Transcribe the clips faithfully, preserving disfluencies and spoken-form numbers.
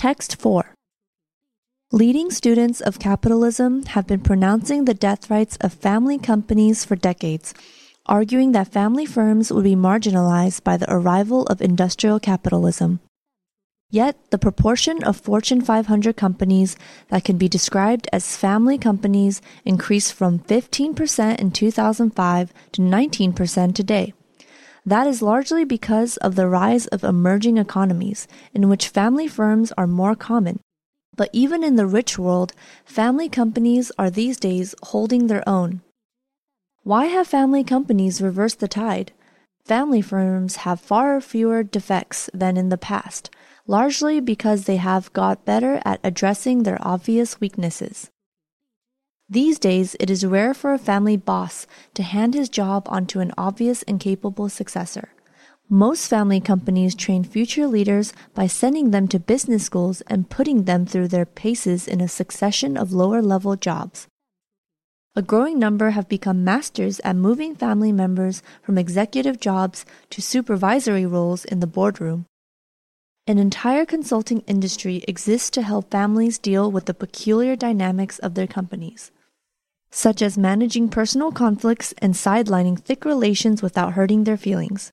Text four. Leading students of capitalism have been pronouncing the death rights of family companies for decades, arguing that family firms would be marginalized by the arrival of industrial capitalism. Yet, the proportion of Fortune five hundred companies that can be described as family companies increased from fifteen percent in two thousand five to nineteen percent today. That is largely because of the rise of emerging economies, in which family firms are more common. But even in the rich world, family companies are these days holding their own. Why have family companies reversed the tide? Family firms have far fewer defects than in the past, largely because they have got better at addressing their obvious weaknesses. These days, it is rare for a family boss to hand his job onto an obvious and capable successor. Most family companies train future leaders by sending them to business schools and putting them through their paces in a succession of lower-level jobs. A growing number have become masters at moving family members from executive jobs to supervisory roles in the boardroom. An entire consulting industry exists to help families deal with the peculiar dynamics of their companies, such as managing personal conflicts and sidelining thick relations without hurting their feelings.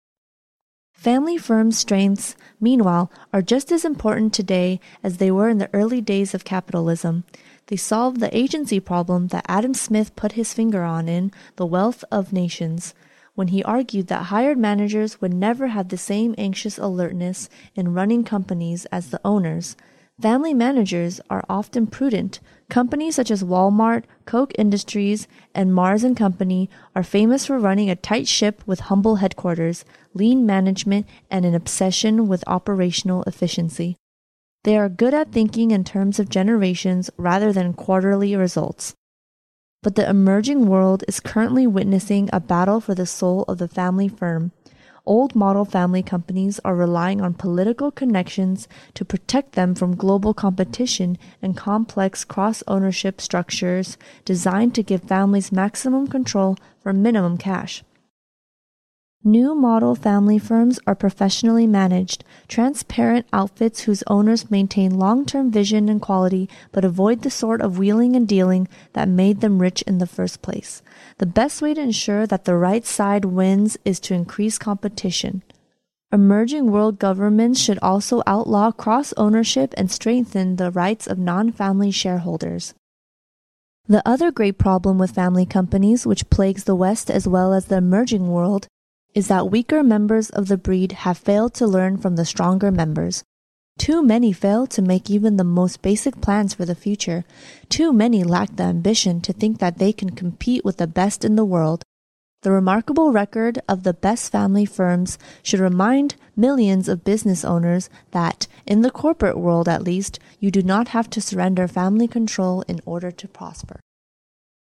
Family firms' strengths, meanwhile, are just as important today as they were in the early days of capitalism. They solve the agency problem that Adam Smith put his finger on in The Wealth of Nations, when he argued that hired managers would never have the same anxious alertness in running companies as the owners. Family managers are often prudent. Companies such as Walmart, Koch Industries, and Mars and Company are famous for running a tight ship with humble headquarters, lean management, and an obsession with operational efficiency. They are good at thinking in terms of generations rather than quarterly results. But the emerging world is currently witnessing a battle for the soul of the family firm. Old model family companies are relying on political connections to protect them from global competition and complex cross-ownership structures designed to give families maximum control for minimum cash. New model family firms are professionally managed, transparent outfits whose owners maintain long-term vision and quality but avoid the sort of wheeling and dealing that made them rich in the first place. The best way to ensure that the right side wins is to increase competition. Emerging world governments should also outlaw cross-ownership and strengthen the rights of non-family shareholders. The other great problem with family companies, which plagues the West as well as the emerging world, is that weaker members of the breed have failed to learn from the stronger members. Too many fail to make even the most basic plans for the future. Too many lack the ambition to think that they can compete with the best in the world. The remarkable record of the best family firms should remind millions of business owners that, in the corporate world at least, you do not have to surrender family control in order to prosper.